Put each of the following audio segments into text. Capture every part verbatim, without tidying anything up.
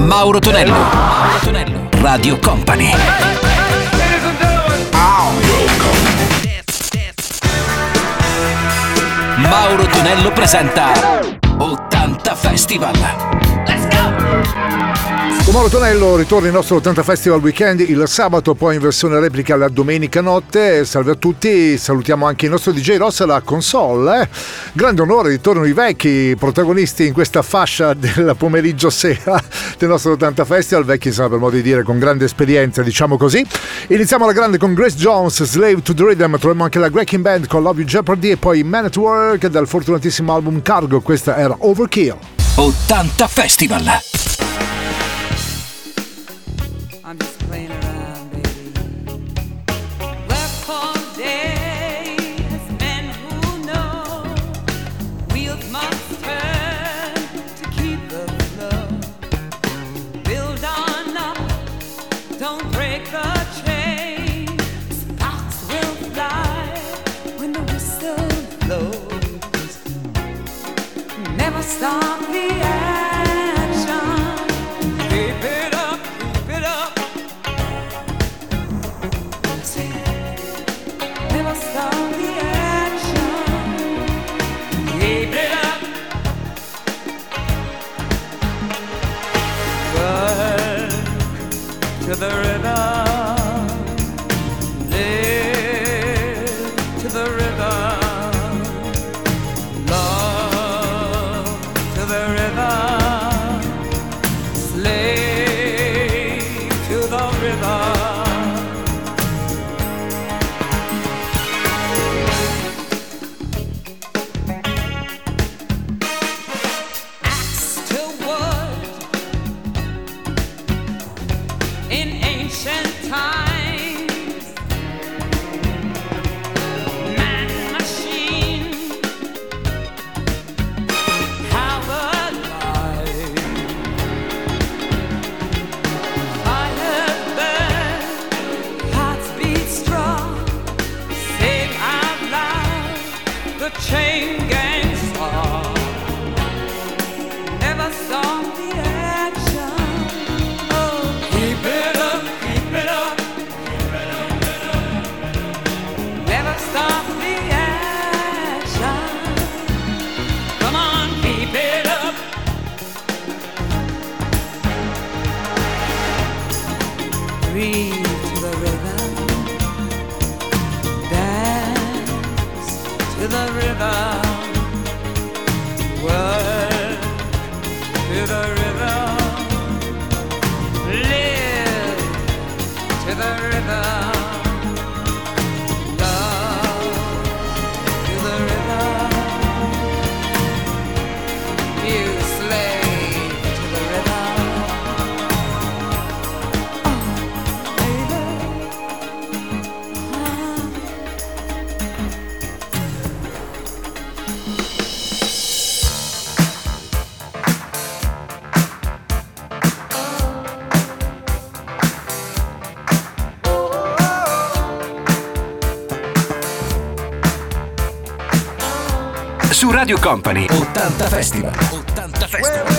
Mauro Tonello. Mauro Tonello. Radio Company. Mauro Tonello presenta ottanta Festival. Let's go! Con Mauro Tonello ritorna il nostro ottanta Festival Weekend il sabato, poi in versione replica la domenica notte. Salve a tutti, salutiamo anche il nostro D J Ross alla console. Eh? Grande onore, ritornano i vecchi protagonisti in questa fascia del pomeriggio sera del nostro ottanta Festival. Vecchi insomma, per modo di dire, con grande esperienza, diciamo così. Iniziamo alla grande con Grace Jones, Slave to the Rhythm. Troviamo anche la Wrecking Band con Love You Jeopardy e poi Man at Work dal fortunatissimo album Cargo. Questa era Overkill. ottanta Festival. I'm just playing around, baby. Work for days, men who know wheels must turn to keep the flow. Build on up, don't break the chain. Sparks will fly when the whistle blows. Never stop the action. Keep it up, keep it up. Never stop the action. Keep it up. Work to the rhythm. Live to the rhythm. Love to the rhythm. Slave to the rhythm. Chain gang star. Never stop the action. Oh, keep it up, keep it up, keep it up, keep it up. Never stop the action. Come on, keep it up. Breathe to the rhythm. Dance to the rhythm, work to the rhythm, live to the rhythm, love to the rhythm, you slave to the rhythm. Oh, baby. Uh-huh. Su Radio Company ottanta Festival. ottanta Festival.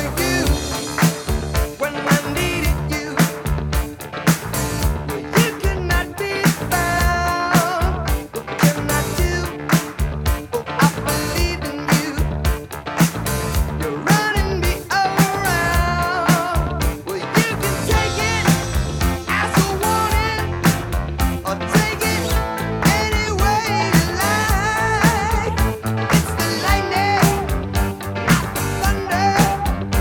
Thunder.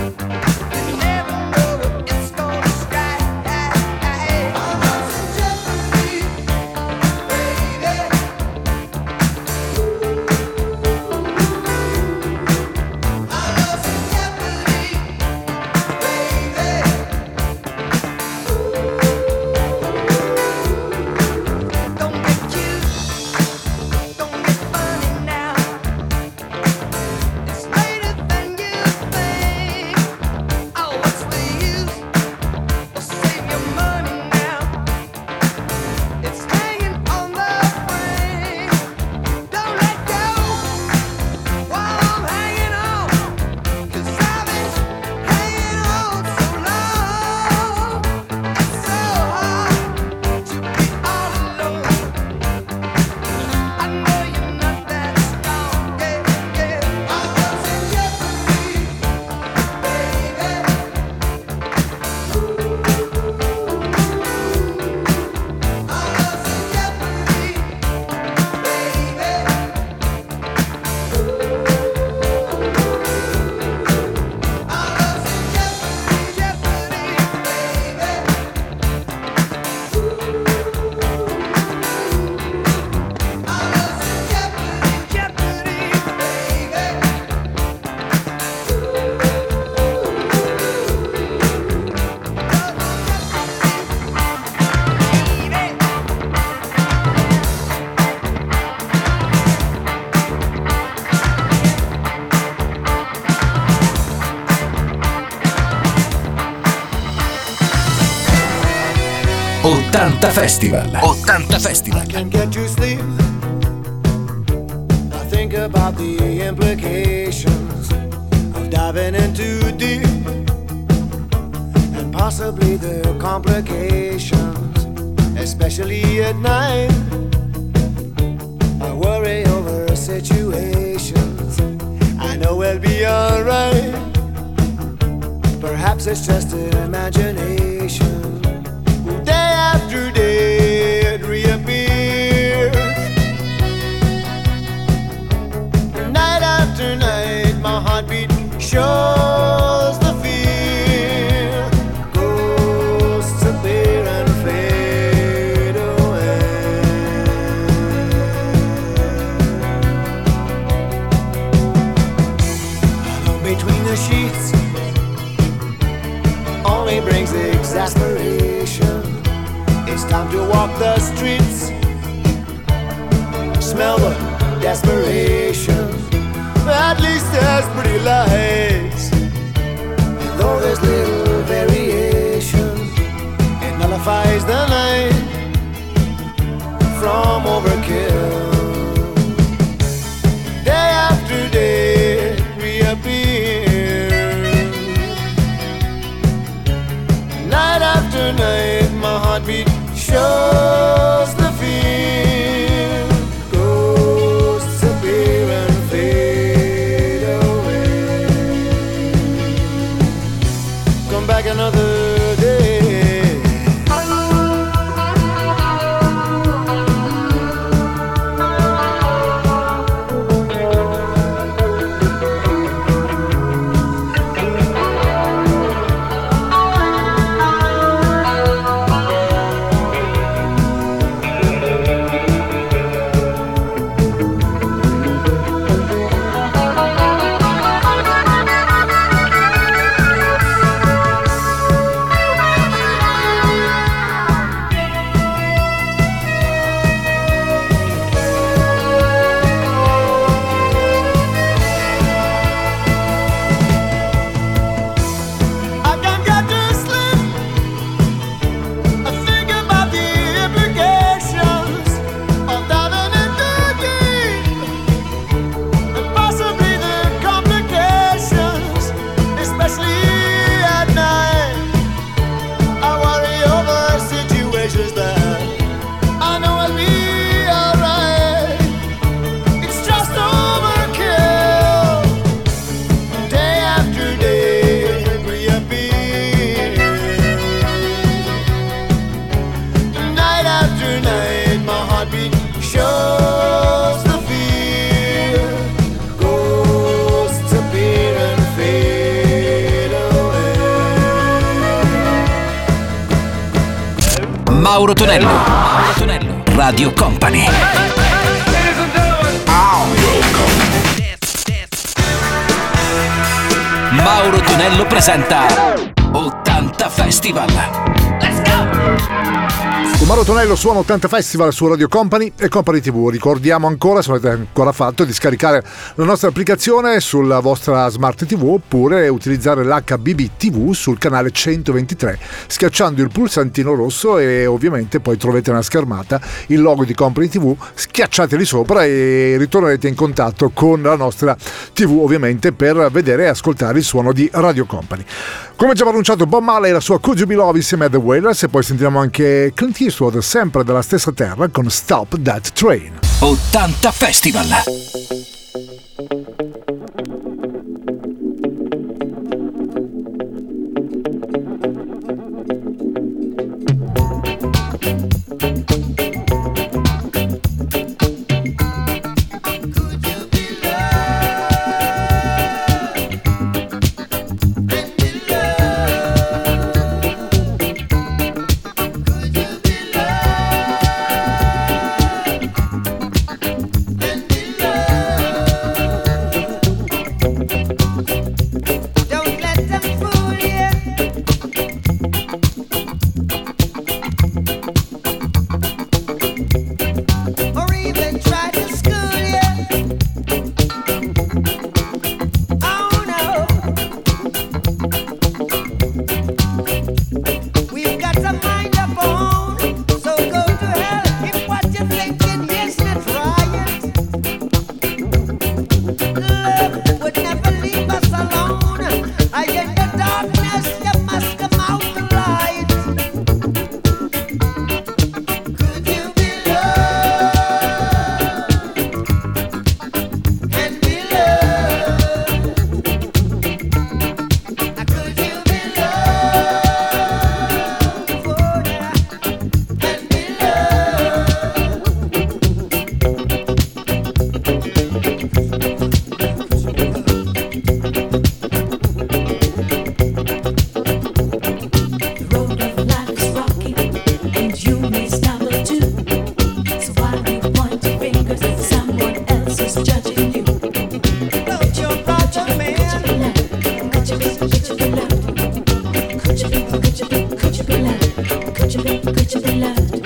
ottanta Festival. ottanta Festival. I can't get to sleep. I think about the implications of diving in too deep, and possibly the complications, especially at night. I worry over situations I know we'll be alright. Perhaps it's just an imagination. Day after day it reappears. Night after night my heartbeat shows the fear. Ghosts appear and fade away. Alone between the sheets only brings exasperation. It's time to walk the streets, smell the desperation. At least there's pretty lights, and though there's little variation, it nullifies the night from overkill. Day after day it reappears. Night after night my heartbeat shows the fear. Ghosts appear and fade away. Come back another day. Mauro Tonello. Mauro Tonello. Radio Company. Mauro Tonello presenta ottanta Festival. Let's go! Con Mauro Tonello suona ottanta Festival su Radio Company e Company tivù. Ricordiamo ancora, se non avete ancora fatto, di scaricare la nostra applicazione sulla vostra Smart tivù oppure utilizzare l'H B B tivù sul canale centoventitré schiacciando il pulsantino rosso e ovviamente poi troverete una schermata il logo di Company tivù, schiacciateli sopra e ritornerete in contatto con la nostra tivù ovviamente per vedere e ascoltare il suono di Radio Company. Come già annunciato, Bob Marley e la sua Could You Be Love insieme a The Wailers e poi sentiremo anche Clint Eastwood sempre dalla stessa terra con Stop That Train. ottanta Festival. Love. could you be, could you be loved? Could you be, could you be loved?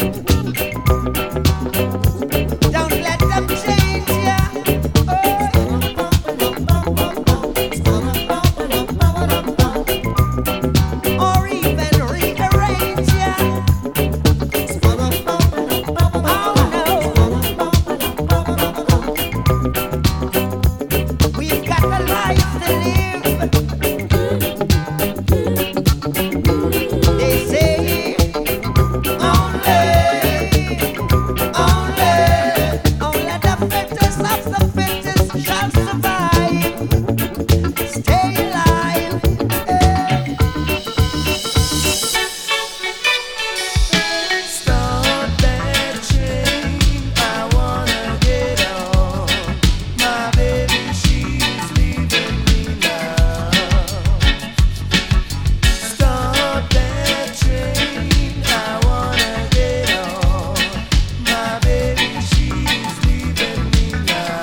Don't let them change ya. Or even rearrange ya. Oh no. We've got a life to live. They say only, only, only the fittest of the fittest shall survive. Stay alive. Start that train. I wanna get on. My baby, she's leaving me now. Start that train. I wanna get on. My baby, she's leaving me now.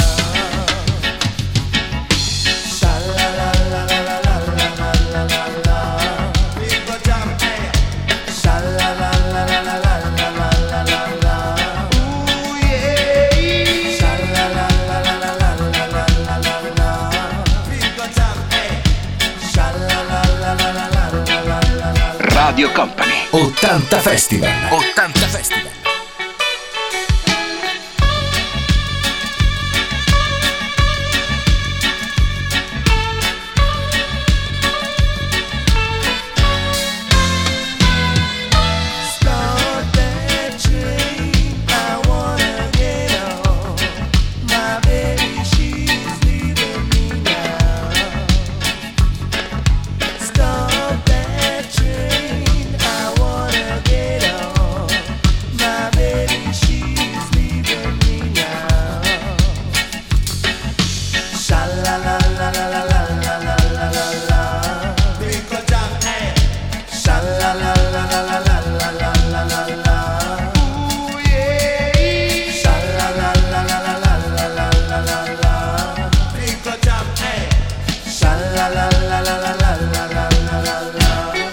Sha la la la la la la la la la la. Big go jam, hey. Sha la la la la la la la la la la la. Ooh yeah. Sha la la la la la la la la la la la. Big go jam, hey. Sha la la la la la la la la la la. Radio Company ottanta Festival. ottanta Festival. Start that train. I wanna get on. My baby, she's leaving me now. Start that train. I wanna get on. My baby, she's leaving me now. Sha la la la la la la la la la la la. Big go jam, hey. Sha la la la la la la la la la la la. Ooh yeah. Sha la la la la la la la la la la la. Big go jam, hey. Sha la la la la la la la la la la la.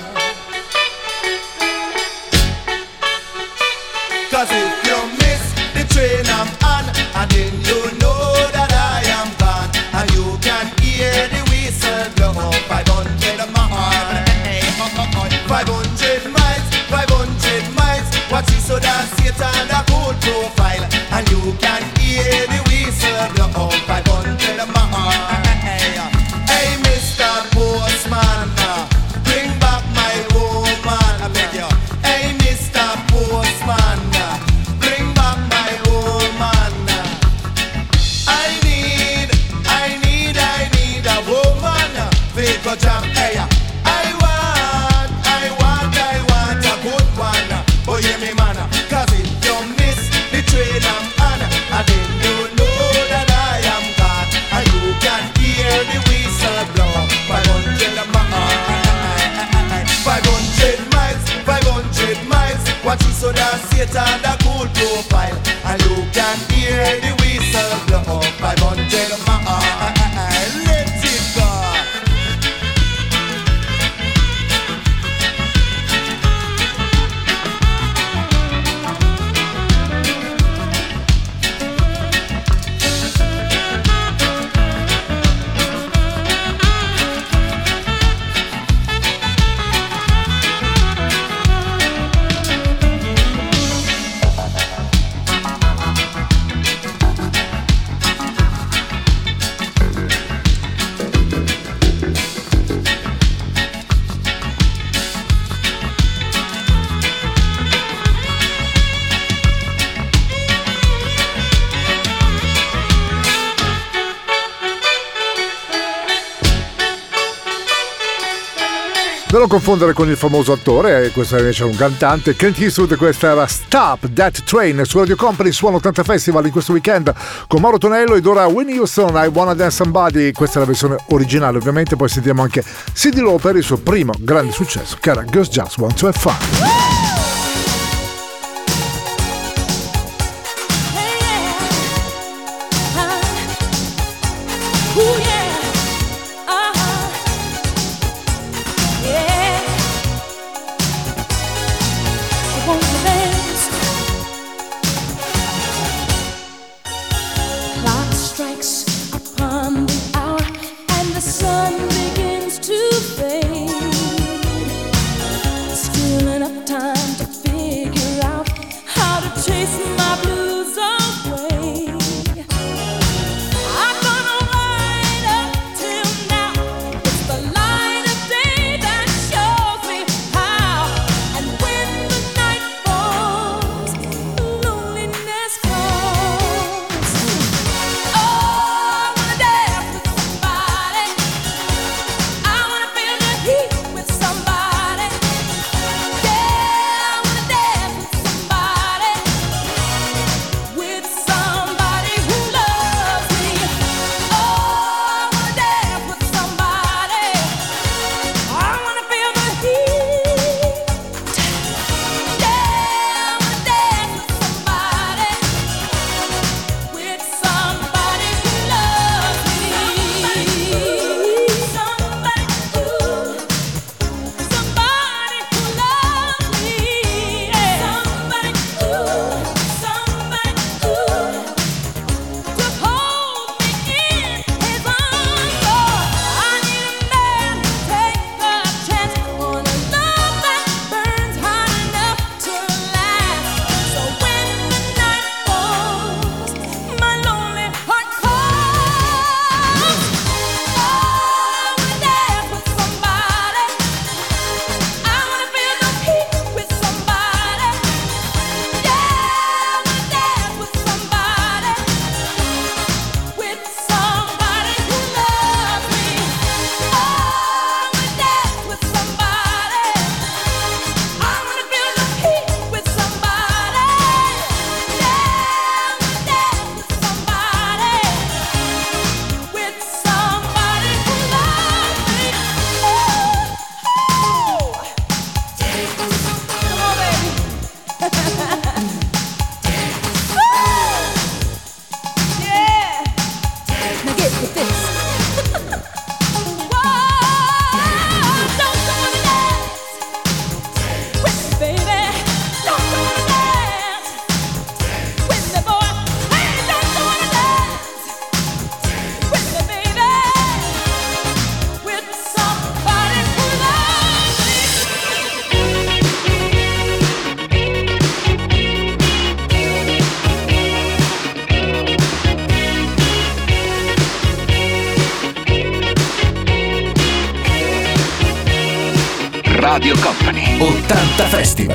Cause if you miss the train I'm on, and then you know that I am gone, and you can hear the whistle blow five hundred miles, five hundred miles, five hundred miles. Watch it so that Satan a cool profile, and you can hear the whistle blow five hundred miles. Hey, Mister Postman, bring back my woman, I beg you. Hey, Mister Postman, bring back my woman. I need, I need, I need a woman. Big go jam, hey. I want, I want, I want a good one. Oh yeah, me man. Cause if you miss the train I'm on, and then you know that I am gone, and you can hear the whistle blow five hundred miles, five hundred miles, five hundred miles. Watch it so that Satan a cool profile, and you can hear the whistle blow five hundred miles. Let it go. Non lo confondere con il famoso attore, questo invece è un cantante. Clint Eastwood, questa era Stop That Train su Radio Company, Suono ottanta Festival in questo weekend con Mauro Tonello ed ora Whitney Houston, I Wanna Dance Somebody. Questa è la versione originale, ovviamente. Poi sentiamo anche Cyndi Lauper, il suo primo grande successo, che era Girls Just Want to Have Fun. Radio Company ottanta Festival.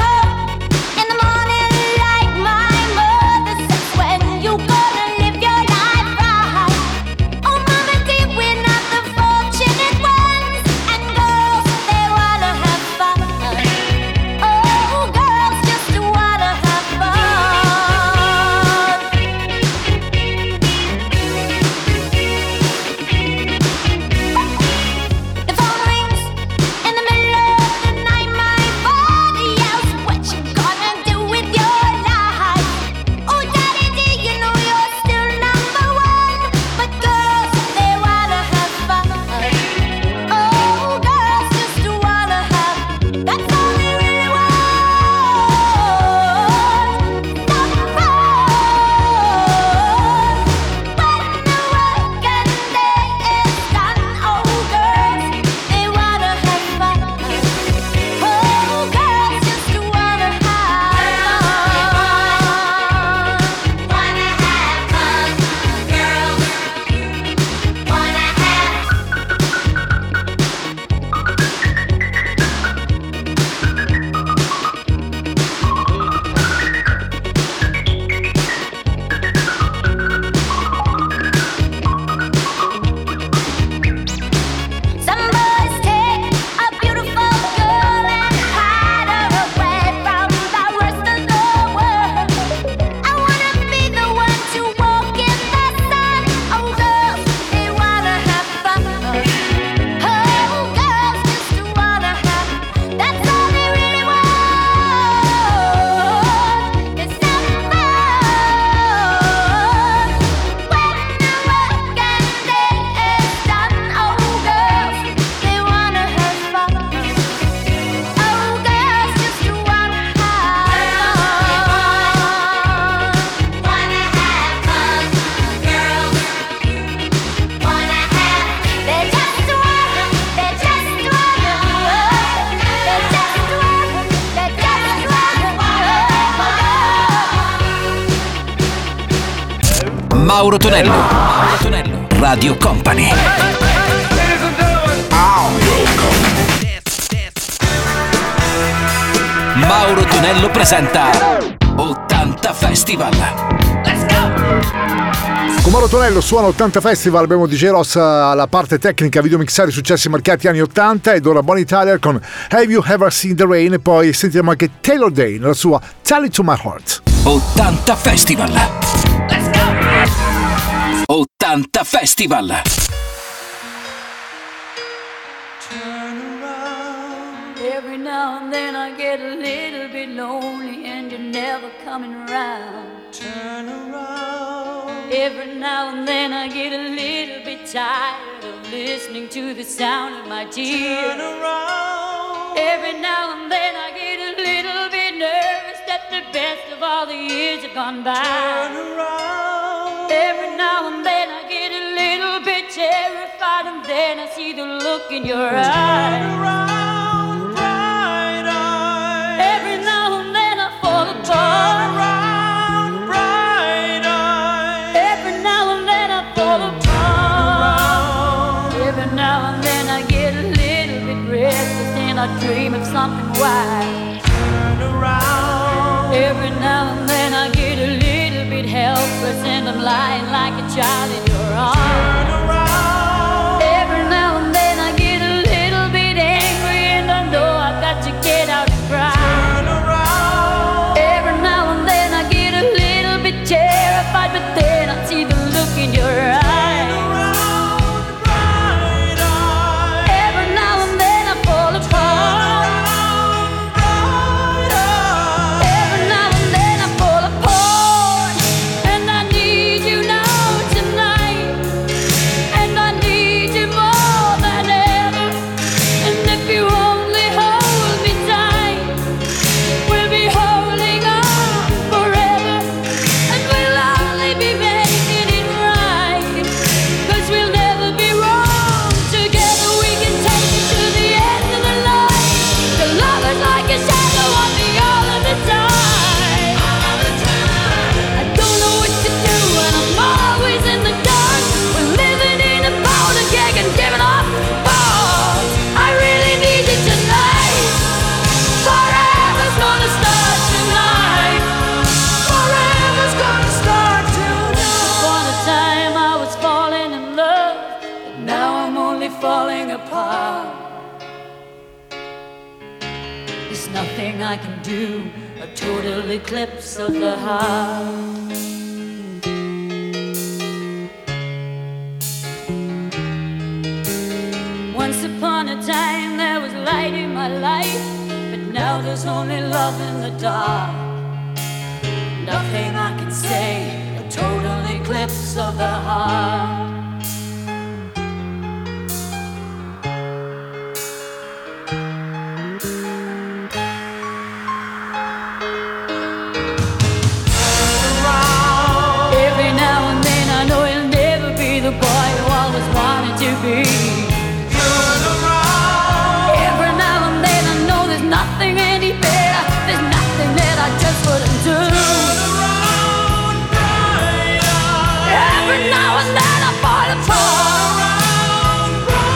Mauro Tonello, Mauro Tonello, Radio Company. Mauro Tonello presenta ottanta Festival. Let's go! Con Mauro Tonello suona ottanta Festival, abbiamo D J Ross alla parte tecnica, video mixare successi marcati anni ottanta ed ora Bonnie Tyler con Have You Ever Seen the Rain e poi sentiremo anche Taylor Day nella sua Tell It to My Heart. ottanta Festival. Let's go! ottanta Festival. Every now and then I get a little bit lonely and you're never coming around. Turn around. Every now and then I get a little bit tired of listening to the sound of my tears. Turn around. Every now and then I get a little bit nervous that the best of all the years have gone by. Turn around. Every now and then I get a little bit terrified and then I see the look in your eyes. Turn around, bright eyes. Every now and then I fall apart. Turn around, bright eyes. Every now and then I fall apart. Every now and then I get a little bit restless and I dream of something wild. Turn around. Every now and then I get a little bit helpless and I'm lying like a child in your arms. Turn around. Every now and then I get a little bit angry and I know I've got to get out and cry. Turn around. Every now and then I get a little bit terrified, but then I see the look in your eyes. And I need you now tonight. There's nothing I can do, a total eclipse of the heart. Once upon a time there was light in my life, but now there's only love in the dark. Nothing I can say, a total eclipse of the heart. Every now and then I know you'll never be the boy you always wanted to be. Every now and then I know there's nothing any better, there's nothing that I just wouldn't do. Every now and then I fall apart.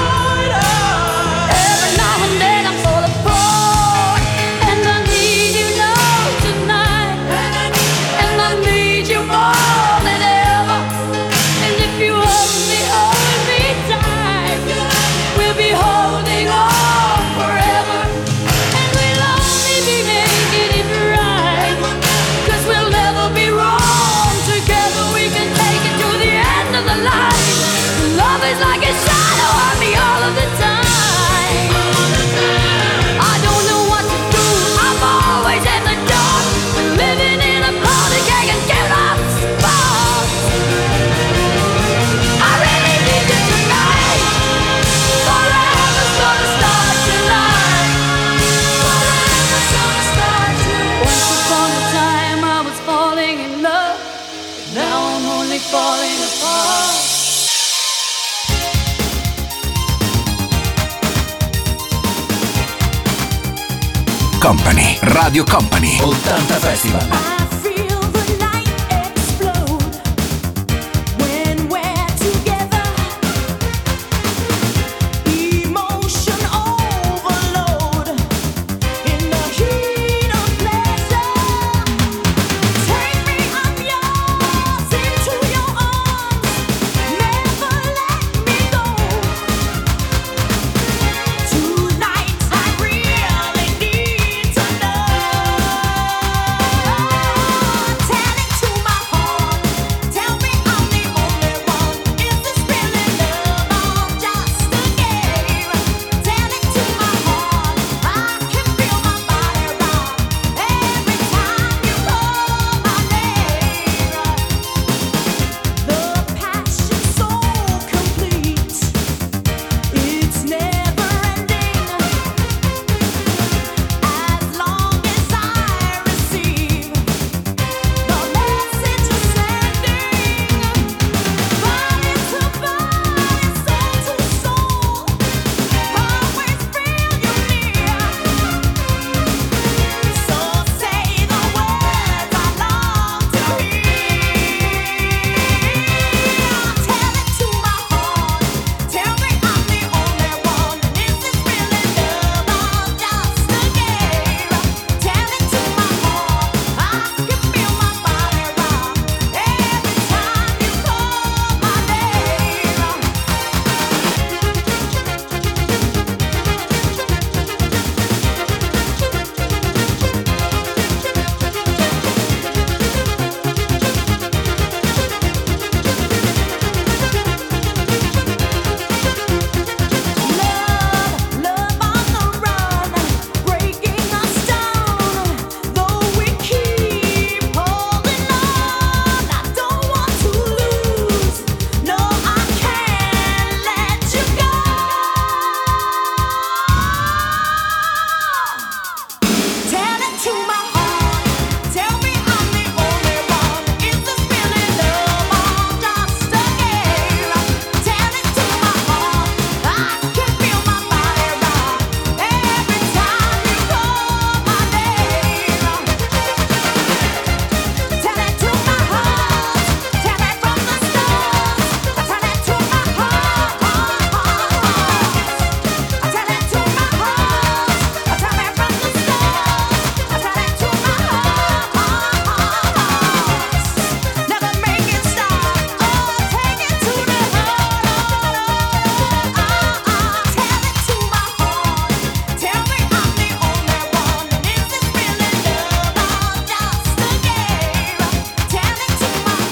Every now and then I fall apart. And I need you now tonight. And I need you more than ever. And if you hold me, hold me tight, we'll be holding on forever. And we'll only be making it right, 'cause we'll never be wrong. Together we can take it to the end of the line. Love is like a shadow on me all of the time. I don't know what to do, I'm always in the dark. We're living in a party gang and get off spot. I really need you tonight. Forever's gonna start tonight. Forever's gonna start tonight. Once upon a time I was falling in love, now I'm only falling apart. Company, Radio Company, ottanta Festival. I feel the night explode when we're together. Emotion overload in the heat of pleasure. Take me, I'm yours, into your arms. Never let me go. Tonight I really need to know.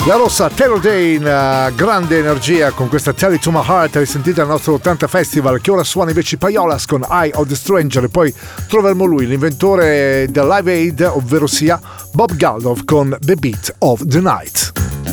La rossa Taylor Dane, grande energia con questa Tell It To My Heart, risentita al nostro ottanta Festival, che ora suona invece Payolas con Eye of the Stranger, e poi troveremo lui, l'inventore del Live Aid, ovvero sia Bob Geldof con The Beat of the Night.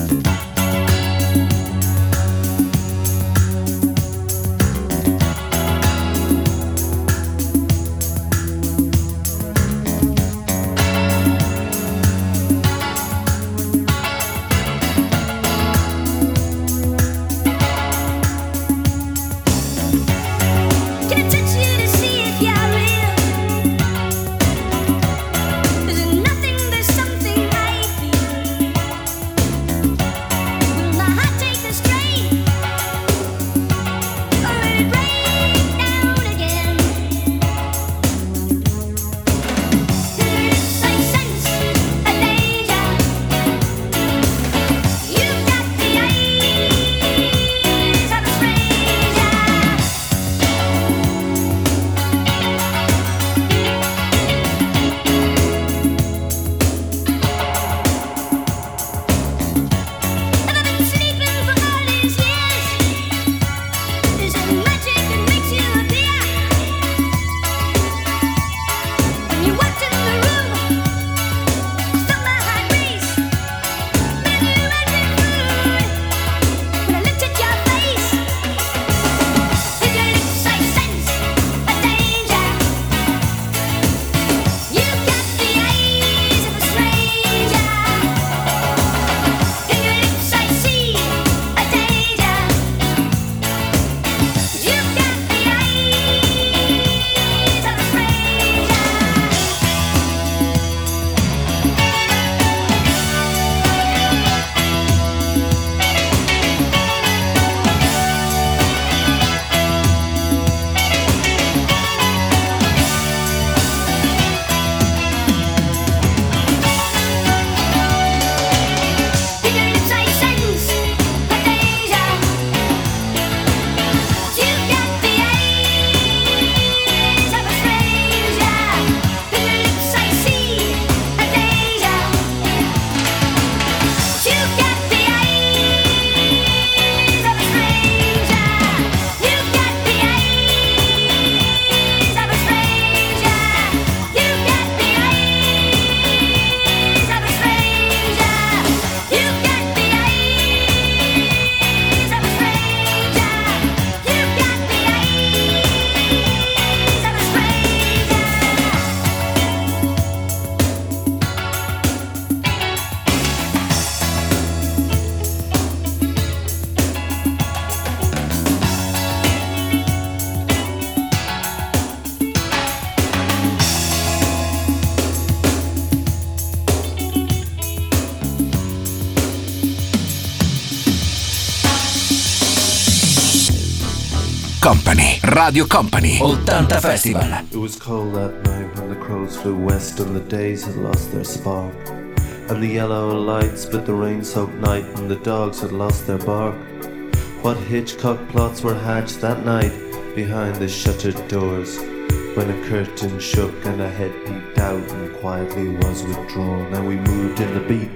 Company, Radio Company, ottanta Festival. It was cold that night when the crows flew west and the days had lost their spark. And the yellow light split the rain-soaked night and the dogs had lost their bark. What Hitchcock plots were hatched that night behind the shuttered doors, when a curtain shook and a head peeped out and quietly was withdrawn, and we moved in the beat,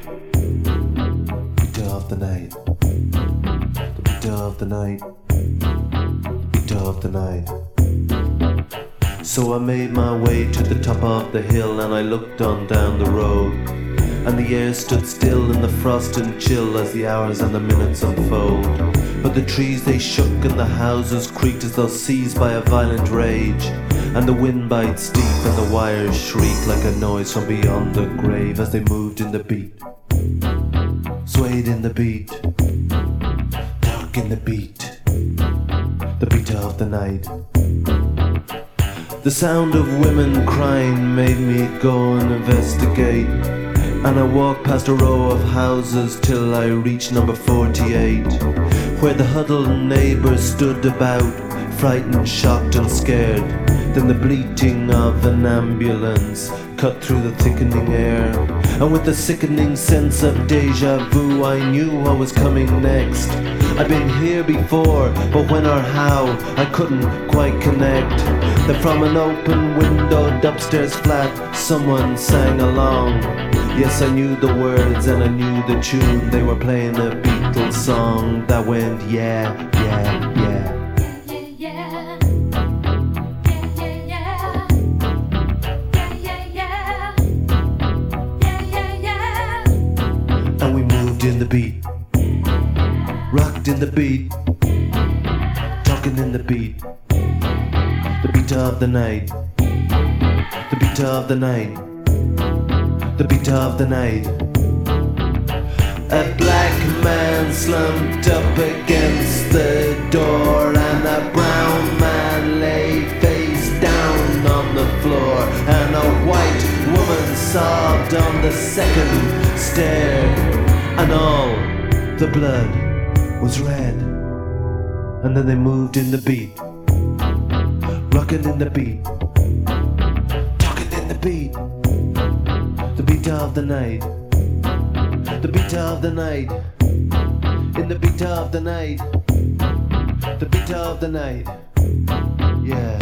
beat of the night, the beat of the night, beat of the night. So I made my way to the top of the hill and I looked on down the road, and the air stood still in the frost and chill as the hours and the minutes unfold. But the trees they shook and the houses creaked as though seized by a violent rage, and the wind bites deep and the wires shriek like a noise from beyond the grave as they moved in the beat, swayed in the beat, dark in the beat, the beat of the night. The sound of women crying made me go and investigate, and I walked past a row of houses till I reached number forty-eight, where the huddled neighbours stood about, frightened, shocked and scared. Then the bleating of an ambulance cut through the thickening air, and with a sickening sense of deja vu I knew what was coming next. I'd been here before, but when or how I couldn't quite connect. Then from an open windowed upstairs flat, someone sang along. Yes, I knew the words and I knew the tune. They were playing a Beatles song that went yeah, yeah, yeah. And we moved in the beat, rocked in the beat, talking in the beat. The beat of the night, the beat of the night, the beat of the night. A black man slumped up against the door, and a brown man lay face down on the floor, and a white woman sobbed on the second stair, and all the blood was red. And then they moved in the beat, rockin' in the beat, talking in the beat, the beat of the night, the beat of the night, in the beat of the night, the beat of the night, yeah.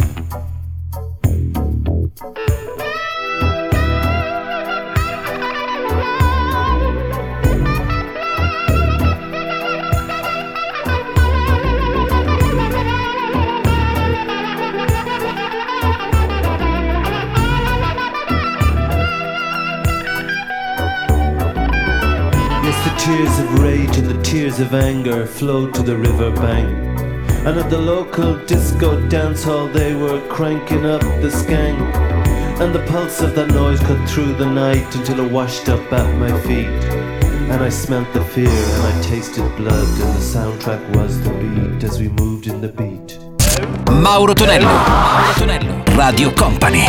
Tears of rage and the tears of anger flowed to the river bank. And at the local disco dance hall they were cranking up the skank. And the pulse of that noise cut through the night until it washed up at my feet. And I smelt the fear and I tasted blood, and the soundtrack was the beat as we moved in the beat. Mauro Tonello, Mauro Tonello, Radio Company.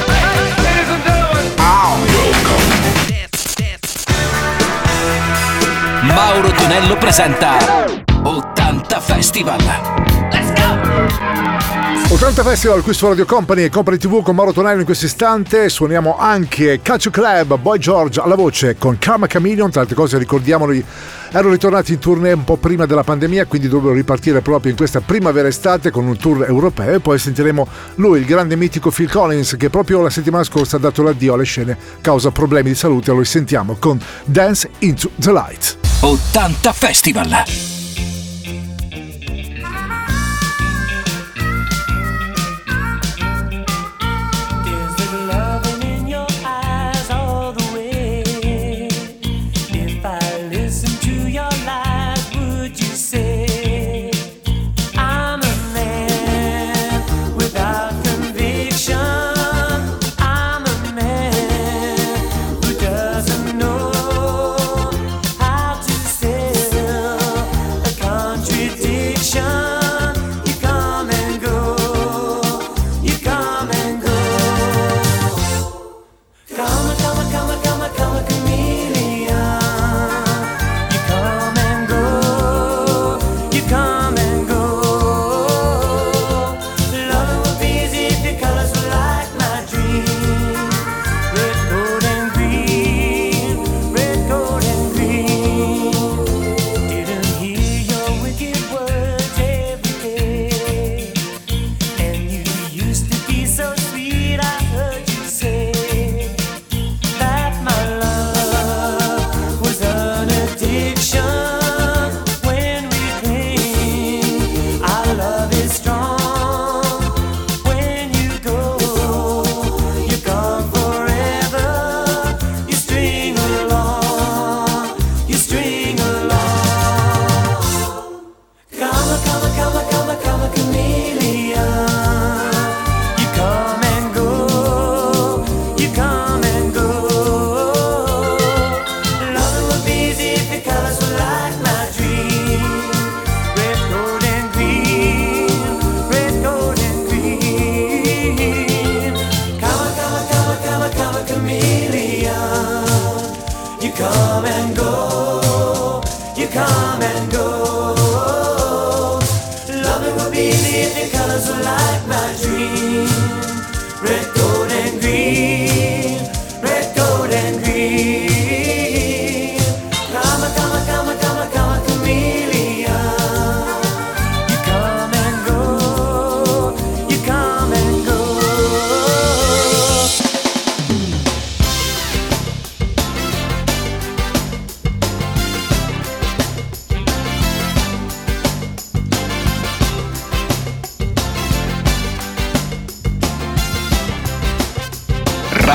Mauro Tonello presenta ottanta Festival. Let's go! ottanta Festival qui su Radio Company e Company tivù con Mauro Tonello in questo istante. Suoniamo anche Calcio Club, Boy George alla voce con Karma Chameleon. Tra altre cose ricordiamoli, erano ritornati in tournée un po' prima della pandemia, quindi dovrebbero ripartire proprio in questa primavera-estate con un tour europeo. E poi sentiremo lui, il grande mitico Phil Collins, che proprio la settimana scorsa ha dato l'addio alle scene causa problemi di salute. Lo sentiamo con Dance into the Light. ottanta Festival. Doesn't know how to say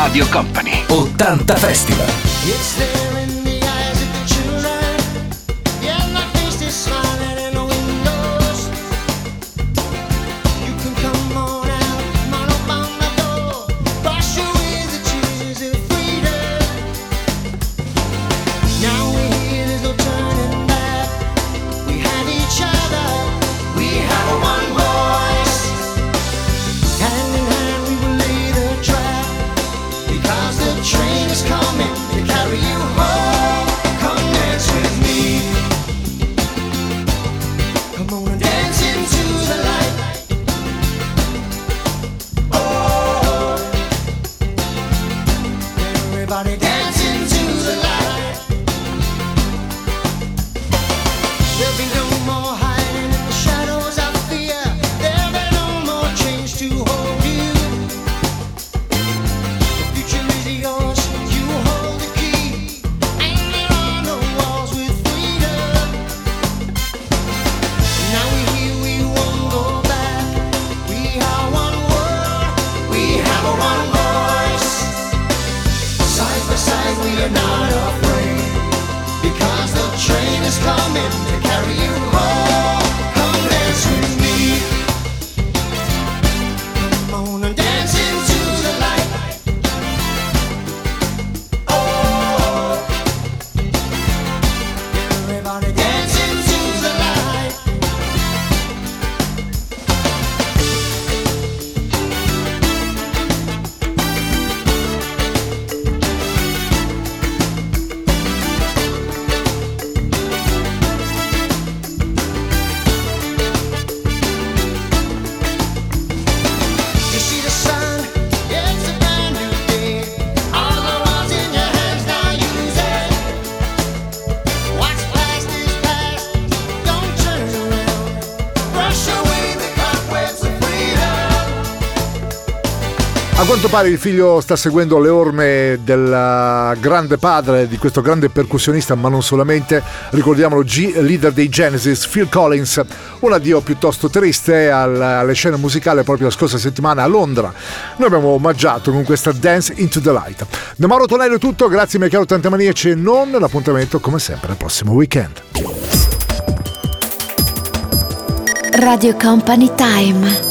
Radio Company ottanta Festival. It's there in the eyes of the children. Yeah, my face is smiling in the windows. You can come on out, come on up on my door. Wash away the tears of freedom. Now we're here, there's no turning back. We have each other, we have one voice. Hand in hand we will lay the track, because the train is coming to carry you home. Come dance with me. Come on and dance into the light. Oh, everybody dance into the light. There'll be no more hiding in the shadows of fear. There'll be no more chains to hold you. The future is yours, you hold the key. And there are no walls with freedom. Now we're here, we won't go back. We are one world, we have a one voice. Side by side we are not afraid, because the train is coming to carry you home. Come dance with me. Come on and dance into the light. Oh, everybody dance into the light. You see the sun, it's a brand new day. All the ones in your hands now use it. What's past is past, don't turn around. Brush away the cobwebs of freedom. A quanto pare il figlio sta seguendo le orme del grande padre, di questo grande percussionista, ma non solamente. Ricordiamolo, G, leader dei Genesis, Phil Collins. Un addio piuttosto triste al- alle scene musicali proprio la scorsa settimana a Londra. Noi abbiamo omaggiato con questa Dance into the Light. Da Mauro Tonello è tutto, grazie miei cari ottantamaniaci e non, l'appuntamento come sempre al prossimo weekend. Radio Company Time.